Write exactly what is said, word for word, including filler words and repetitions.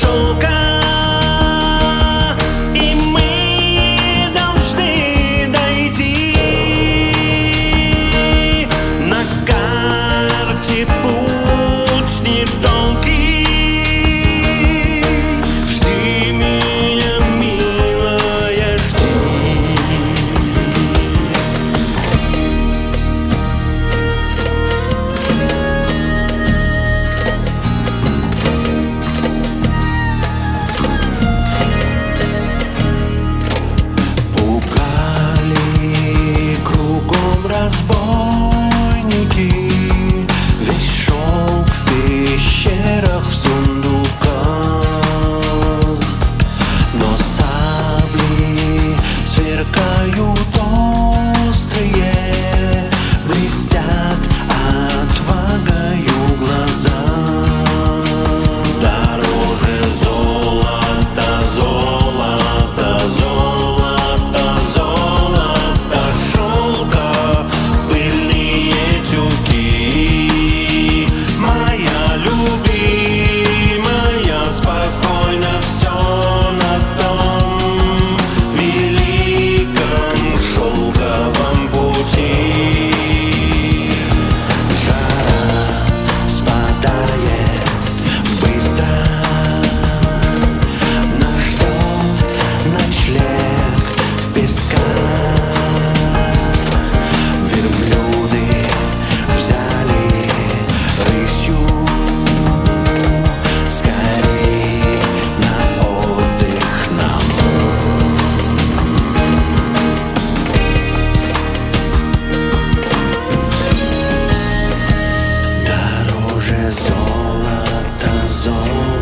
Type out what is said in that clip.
шелка. И мы должны дойти. На карте путь недолгий. Жди меня, милая, жди. Разбойники, весь шелк в пещерах, в сундуках, но сабли сверкают острые, блестят отвагою глаза. Дороже золота, золото, золото, золото, шелка, пыльные тюки. Моя любимая, спокойно все на том великом шелковом пути. Жара спадает быстро, нас ждет ночлег в песках. Верблюды взяли рысью, скорей на отдых нам. Дороже золота, золото.